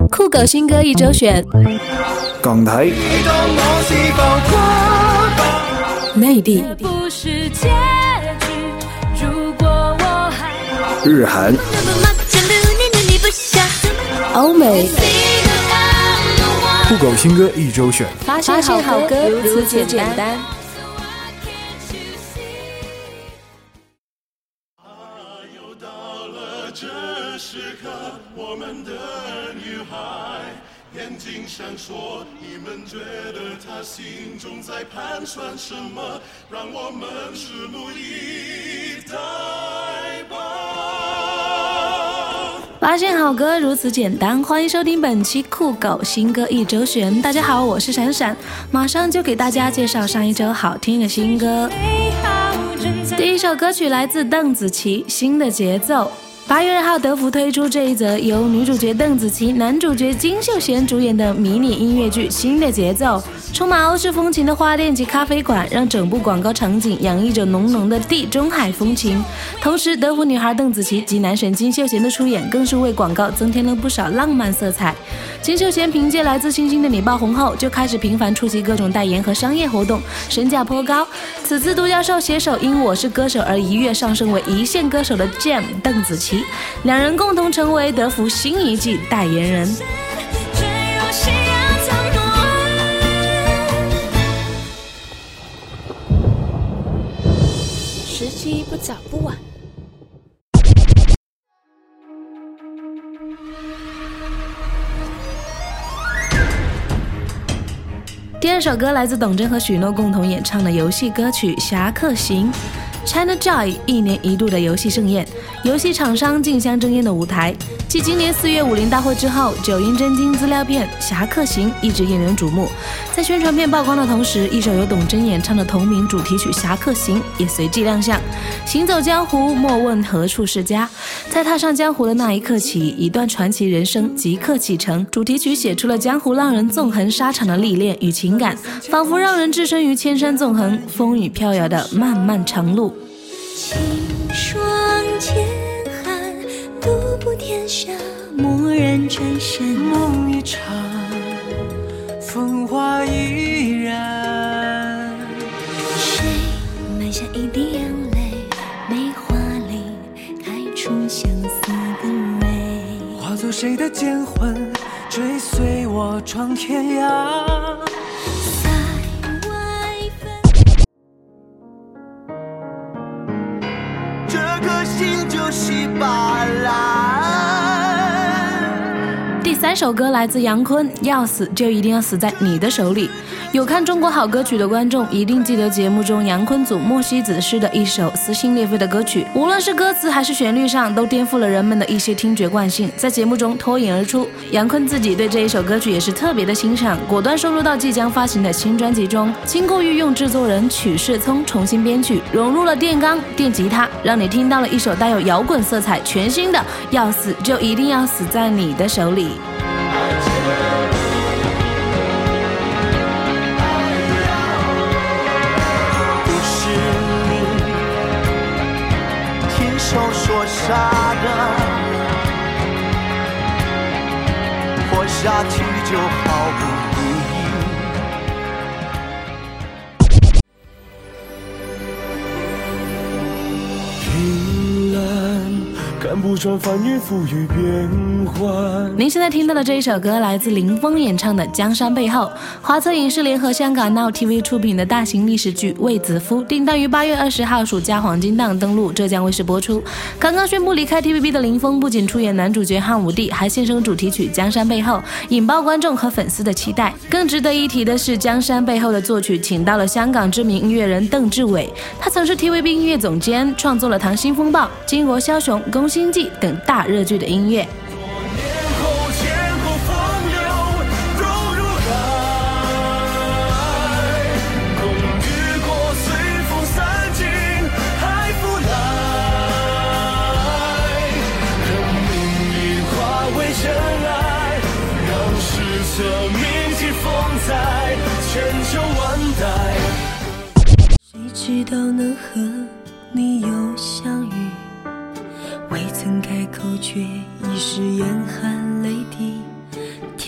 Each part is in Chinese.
酷狗新歌一周选， 港台、 内地、 日韩、 欧美， 酷狗新歌一周选， 发现好歌如此简单。 我们的女孩眼睛闪烁，你们觉得她心中在盘算什么？让我们拭目以待吧。 发现好歌如此简单，欢迎收听本期酷狗新歌一周选。大家好，我是闪闪，马上就给大家介绍上一周好听的新歌。第一首歌曲来自邓紫棋，《新的节奏》。8月2号，德芙推出这一则由女主角邓紫棋、男主角金秀贤主演的迷你音乐剧《新的节奏》，充满欧式风情的花店及咖啡馆，让整部广告场景洋溢着浓浓的地中海风情。同时，德芙女孩邓紫棋及男神金秀贤的出演，更是为广告增添了不少浪漫色彩。金秀贤凭借《来自星星的你》爆红后，就开始频繁出席各种代言和商业活动，身价颇高。此次独角兽携手因《我是歌手》而一跃上升为一线歌手的 Jam 邓紫棋，两人共同成为德芙新一季代言人。 时机不早不晚。 第二首歌来自董贞和许诺共同演唱的游戏歌曲《侠客行》。China Joy 1年1度的游戏盛宴，游戏厂商竞相争艳的舞台。继今年4月50大会之后，9阴真经资料片《侠客行》一直引人瞩目。在宣传片曝光的同时，一首由董贞演唱的同名主题曲《侠客行》也随即亮相。行走江湖，莫问何处是家。在踏上江湖的那一刻起，一段传奇人生即刻启程。主题曲写出了江湖浪人纵横沙场的历练与情感，仿佛让人置身于千山纵横、风雨飘摇的漫漫长路。 青霜剑寒，独步天下，蓦然转身， 梦一场，风华依然。 谁埋下一滴眼泪，梅花里开出相思的蕊， 化作谁的剑魂，追随我闯天涯。 心就是把蓝。 第三首歌来自杨坤，要死就一定要死在你的手里。有看中国好歌曲的观众一定记得节目中杨坤组莫西子诗的一首撕心裂肺的歌曲，无论是歌词还是旋律上都颠覆了人们的一些听觉惯性，在节目中脱颖而出。杨坤自己对这一首歌曲也是特别的欣赏，果断收录到即将发行的新专辑中。经过御用制作人曲世聪重新编曲，融入了电钢、电吉他，让你听到了一首带有摇滚色彩全新的要死就一定要死在你的手里。 说傻的，活下去就好不容易。 平淡，看不穿翻云覆雨变幻。 您现在听到的这一首歌来自林峰演唱的《江山背后》，华策影视联合香港 Now TV 出品的大型历史剧《卫子夫》，定档于8月20号暑假黄金档登陆浙江卫视播出。刚刚宣布离开 TVB 的林峰，不仅出演男主角汉武帝，还献声主题曲《江山背后》，引爆观众和粉丝的期待。更值得一提的是，《江山背后》的作曲请到了香港知名音乐人邓志伟，他曾是 TVB 音乐总监，创作了《溏心风暴》、《巾帼枭雄》、《宫心计》等大热剧的音乐。 谁知道能和你又相遇，未曾开口却已是眼含泪滴，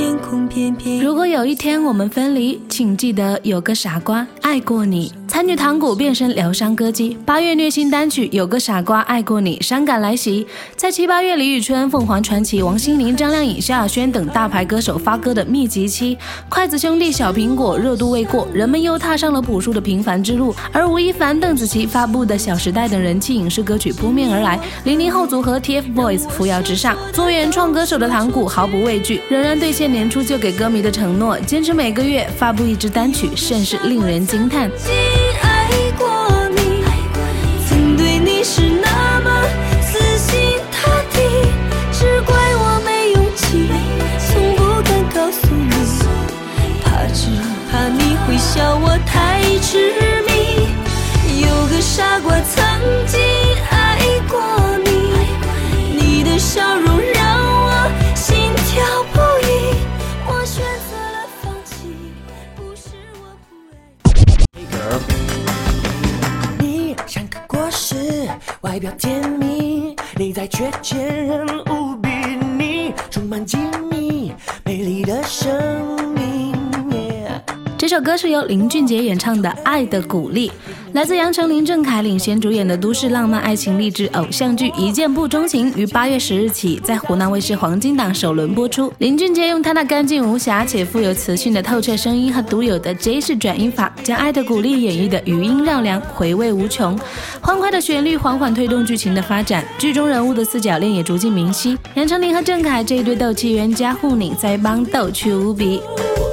天空翩翩。 如果有一天我们分离，请记得有个傻瓜爱过你。参与堂鼓变身疗伤歌姬，8月虐心单曲有个傻瓜爱过你，伤感来袭。在7、8月李宇春、凤凰传奇、王心凌、张靓颖、萧亚轩等大牌歌手发歌的密集期，筷子兄弟、小苹果热度未过，人们又踏上了朴树的平凡之路。而吴亦凡、邓紫棋发布的《小时代》等人气影视歌曲扑面而来，00后组合 TFBOYS 扶摇直上。作为原创歌手的堂鼓毫不畏惧，仍然兑现年初就给歌迷的承诺，坚持每个月发布一支单曲，甚是令人惊叹。 爱过你，曾对你是那么死心塌地，只怪我没勇气，从不敢告诉你，只怕你会笑我太痴迷。有个傻瓜曾经爱过你，你的笑容让我心跳不已，我选择了放弃，不是我不爱你像个果实，外表甜蜜，内在却坚韧无比，你充满机密，美丽的生命。 这首歌是由林俊杰演唱的《爱的鼓励》，来自杨丞琳、郑恺领衔主演的都市浪漫爱情励志偶像剧《一见不钟情》于8月10日起在湖南卫视黄金档首轮播出。林俊杰用他那干净无瑕且富有磁性的透彻声音和独有的 J 式转音法，将《爱的鼓励》演绎的余音绕梁，回味无穷。欢快的旋律缓缓推动剧情的发展，剧中人物的四角恋也逐渐明晰。杨丞琳和郑恺这一对斗气冤家互拧在一帮逗趣无比。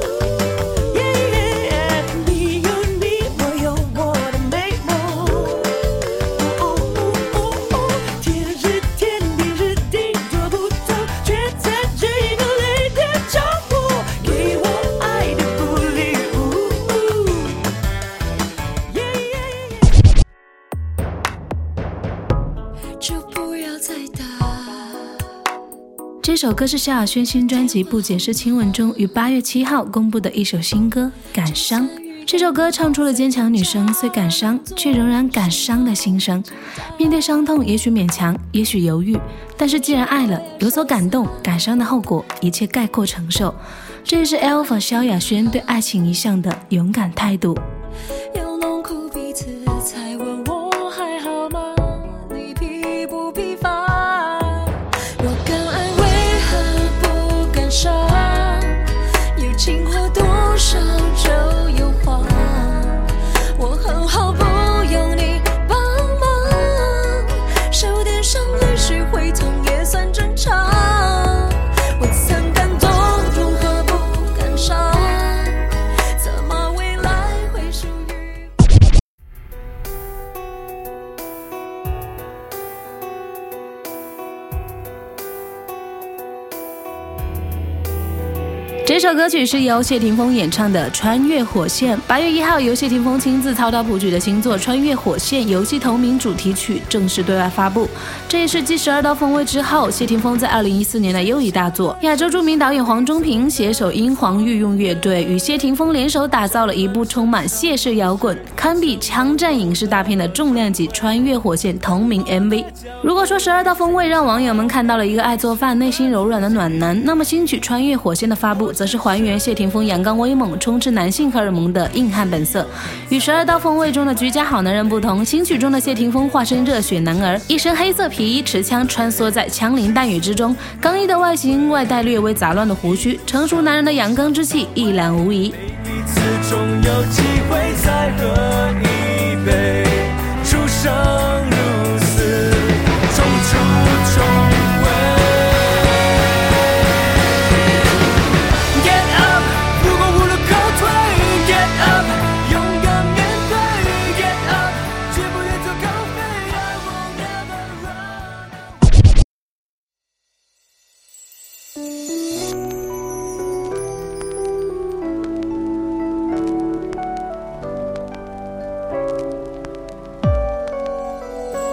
这首歌是萧亚轩新专辑《不解释亲吻》中于8月7号公布的一首新歌《感伤》。这首歌唱出了坚强女生虽感伤却仍然感伤的心声。面对伤痛，也许勉强，也许犹豫，但是既然爱了，有所感动，感伤的后果一切概括承受。这也是 Alpha 萧亚轩对爱情一向的勇敢态度。 要弄哭彼此才问我还好吗？你疲不疲乏？若敢爱为何不敢伤？有情话多少就有谎，我很好不用你帮忙，手点上泪水会痛也算正常。我曾感动如何不感伤？怎么未来会属于这首歌曲是由谢霆锋演唱的《穿越火线》。8月1号，由谢霆锋亲自操刀谱曲的新作《穿越火线》游戏同名主题曲正式对外发布。这也是继《12道锋味》之后，谢霆锋在2014年的又一大作。亚洲著名导演黄中平携手英皇御用乐队，与谢霆锋联手打造了一部充满谢氏摇滚、堪比枪战影视大片的重量级《穿越火线》同名 MV。如果说《12道锋味》让网友们看到了一个爱做饭、内心柔软的暖男，那么新曲《穿越火线》的发布则是还原谢霆锋阳刚威猛、充斥男性荷尔蒙的硬汉本色。与12道锋味中的居家好男人不同，新曲中的谢霆锋化身热血男儿，一身黑色皮衣，持枪穿梭在枪林弹雨之中，刚毅的外形外带略微杂乱的胡须，成熟男人的阳刚之气一览无遗。 彼此终有机会再喝一杯，出生入死，重出重围。Get up， 如果无路可退 ，Get up， 勇敢面对 ，Get up， 绝不越俎高飞 ，I will never run。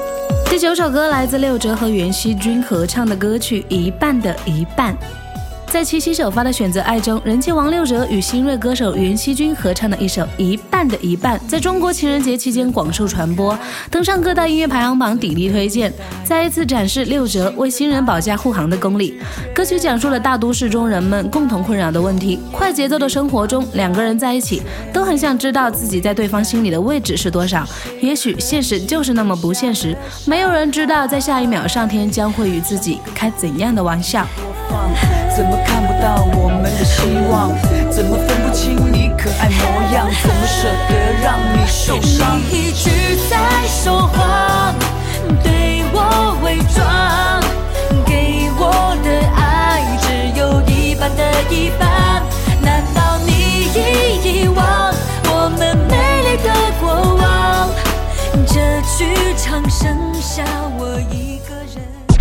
第9首歌来自6哲和袁熙君合唱的歌曲《一半的一半》。 在七夕首发的《选择爱》中，人气王六哲与新锐歌手袁熙君合唱的一首《一半的一半》，在中国情人节期间广受传播，登上各大音乐排行榜鼎力推荐，再一次展示六哲为新人保驾护航的功力。歌曲讲述了大都市中人们共同困扰的问题，快节奏的生活中，两个人在一起都很想知道自己在对方心里的位置是多少。也许现实就是那么不现实，没有人知道在下一秒上天将会与自己开怎样的玩笑。 怎么看不到我们的希望？怎么分不清你可爱模样？怎么舍得让你受伤？ 你一直在说谎，对我伪装，给我的爱只有一半的一半。难道你已遗忘我们美丽的过往？这剧场剩下我一个人。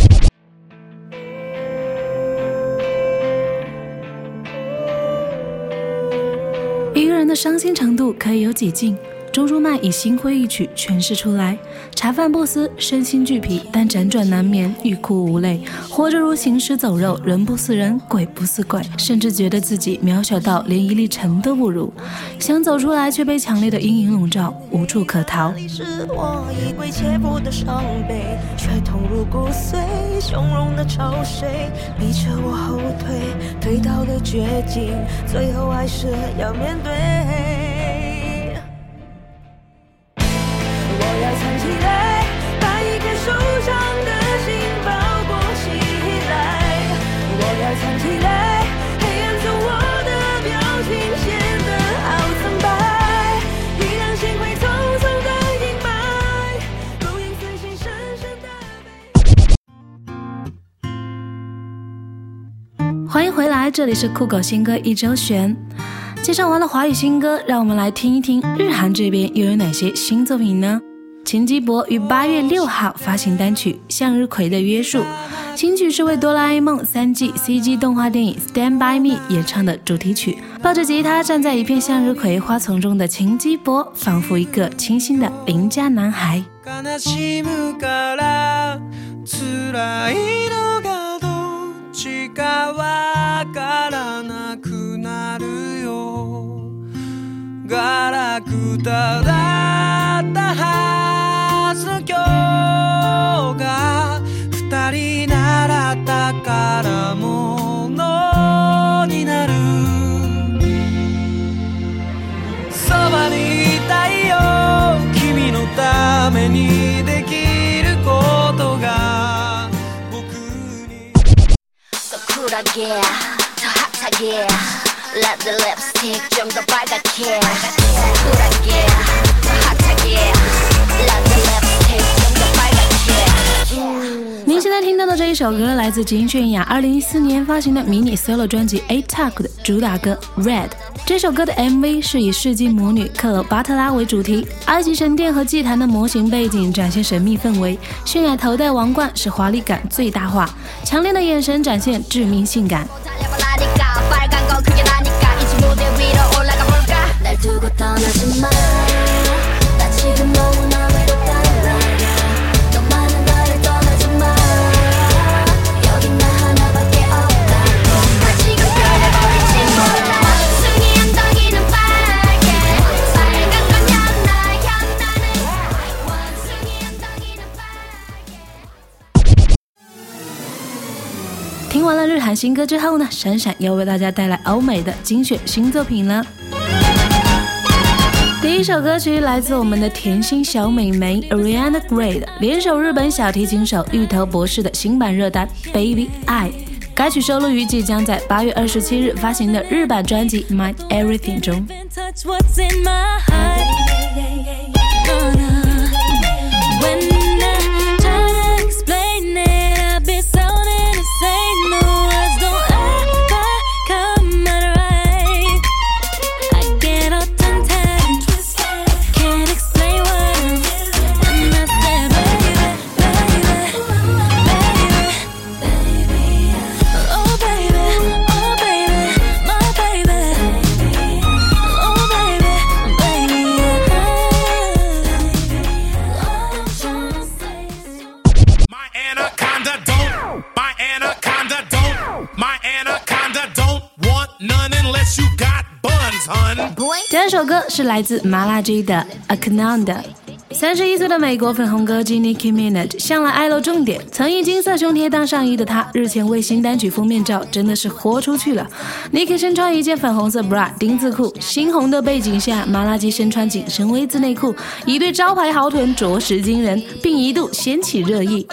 一个人的伤心程度可以有几尽？周珠曼以心灰意曲诠释出来，茶饭不思，身心俱疲，但辗转难眠，欲哭无泪，活着如行尸走肉，人不似人，鬼不似鬼，甚至觉得自己渺小到连一粒尘都不如，想走出来却被强烈的阴影笼罩，无处可逃。 是我衣柜切破的伤悲，却痛入骨髓，汹涌的潮水逼着我后退，退到了绝境，最后还是要面对。我要藏起来，把一颗受伤的心包裹起来。我要藏起来，黑暗中我的表情显得好苍白，依然心会匆匆的阴霾，如影随形深深的。 欢迎回来，这里是酷狗新歌一周选。介绍完了华语新歌，让我们来听一听日韩这边又有哪些新作品呢？秦基博于8月6号发行单曲《向日葵的约束》，新曲是为哆啦 A 梦3G CG 动画电影 Stand By Me 演唱的主題曲。抱着吉他站在一片向日葵花丛中的秦基博，仿佛一个清新的邻家男孩。 悲しむから辛いのがどっちかわからなくなるよ。ガラクタだったはずの今日が二人習ったからものになる。そばにいたいよ君のためにできることが僕に。 So 쿨하게 더 핫하게 Let the lipstick 좀 더 빨갛게 쿨하게 더 핫하게 Let the lipstick 좀 더 빨갛게。 您现在听到的这一首歌来自金泫雅2014年发行的迷你 solo 专辑 A-Talk 的主打歌 Red。 这首歌的 MV 是以世纪魔女克罗巴特拉为主题，埃及神殿和祭坛的模型背景展现神秘氛围，泫雅头戴王冠使华丽感最大化，强烈的眼神展现致命性感。听完了日韩新歌之后呢，闪闪要为大家带来欧美的精选新作品了。第一首歌曲来自我们的甜心小美眉 Ariana Grande 联手日本小提琴手芋头博士的新版热单 Baby I。 该曲收录于即将在8月27日发行的日版专辑 My Everything 中。 第二首歌是来自麻辣鸡的 Aknanda。31岁的美国粉红歌姬 Nicki Minaj 向来爱露重点，曾以金色胸贴当上衣的她，日前为新单曲封面照真的是豁出去了。Nicki 身穿一件粉红色 bra 丁字裤，猩红的背景下，麻辣鸡身穿紧身 V 字内裤，一对招牌豪臀着实惊人，并一度掀起热议。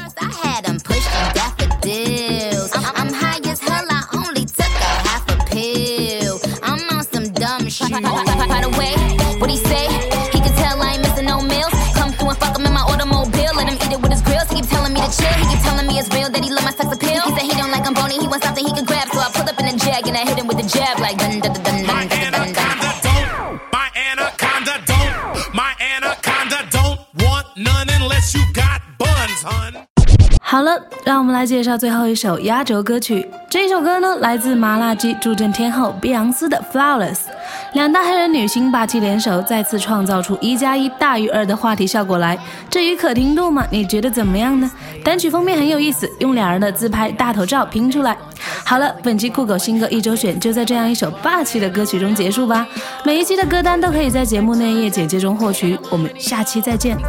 It's real that he love my sex appeal. He said he don't like I'm bony, he wants something he can grab. So I pull up in a jag and I hit him with a jab like dun dun dun dun dun dun dun. My anaconda don't, my anaconda don't want none unless you got buns, hun. 好了，让我们来介绍最后一首压轴歌曲。这首歌呢，来自麻辣鸡助阵天后碧昂斯的 Flawless。两大黑人女星霸气联手，再次创造出1+1大于2的话题效果来。至于可听度嘛，你觉得怎么样呢？单曲封面很有意思，用两人的自拍大头照拼出来。好了，本期酷狗新歌一周选就在这样一首霸气的歌曲中结束吧。每一期的歌单都可以在节目内页简介中获取。我们下期再见。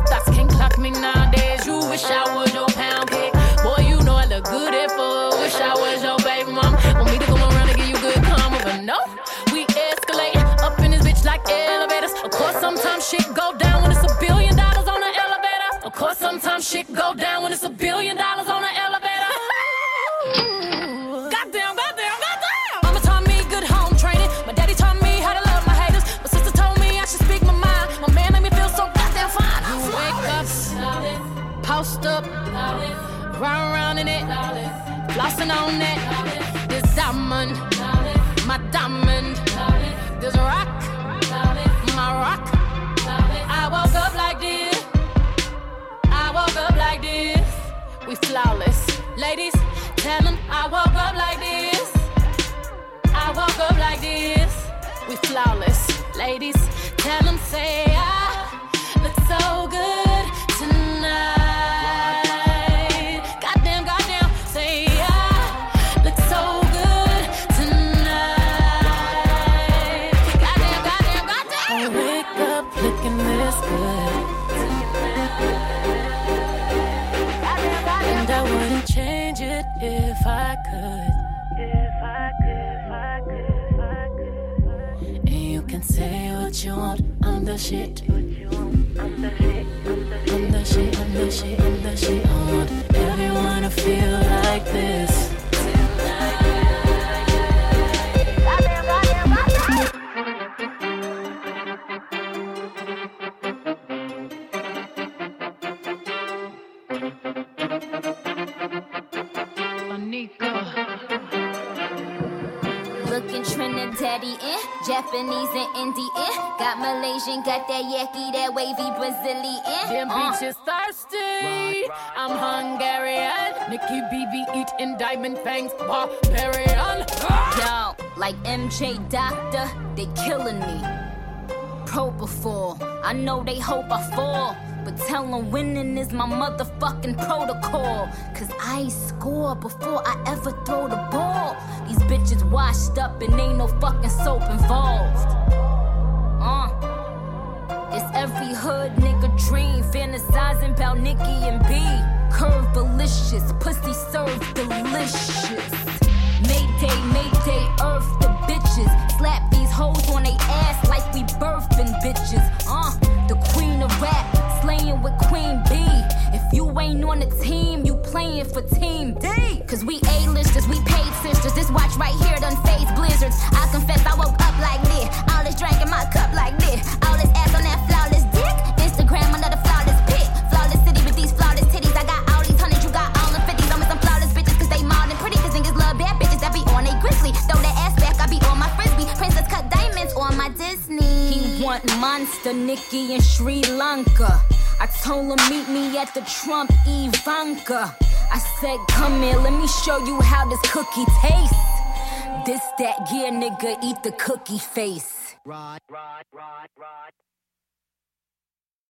Good at for, wish I was your baby mom. Want me to come around and give you good karma, but no, we escalate up in this bitch like elevators. Of course, sometimes shit go down when it's $1 billion on the elevator. Of course, sometimes shit go down when it's $1 billion on the elevator. Goddamn, goddamn, goddamn. Mama taught me good home training. My daddy taught me how to love my haters. My sister told me I should speak my mind. My man made me feel so goddamn fine. You wake up, post up. Round in it, flossing on it. This diamond, my diamond. This rock, my rock. I woke up like this. I woke up like this. We flawless, ladies. Tell them I woke up like this. I woke up like this. We flawless, ladies. Tell them say I look so good tonight. If I could, and you can say what you want, I'm the shit. I'm the shit. I want everyone to feel like this. Looking Trinidadian, Japanese and Indian. Got Malaysian, got that yaki, that wavy Brazilian. Them bitches thirsty. I'm Hungarian. Nicki BB eating diamond fangs, barbarian. Yo, like MJ Doctor, they killing me. Propofol, I know they hope I fall. But tell them winning is my motherfucking protocol. Cause I score before I ever throw the ball. These bitches washed up and ain't no fucking soap involved. It's every hood nigga dream, fantasizing about Nicki and B. Curve delicious, pussy served delicious. Mayday, Mayday, earth the bitches. Slap these hoes on they ass like we birthing bitches. The queen of rap, slaying with Queen B. If you ain't on the team, you playing for Team D. Cause we A-listers, we paid sisters. This watch right here done phase blizzards. I confess I woke up like this. All this drink in my cup like this. All this ass on that flawless dick. Instagram another flawless pic. Flawless city with these flawless titties. I got all these hundreds, you got all the 50s. I'm with some flawless bitches cause they mild and pretty. Cause niggas love bad bitches that be on they grizzly. Throw that ass back, I be on my frisbee. Princess cut diamonds on my Disney. He want Monster, Nicki in Sri Lanka. I told him meet me at the Trump Ivanka. I said come here, let me show you how this cookie tastes. This that, yeah nigga, eat the cookie face. Right.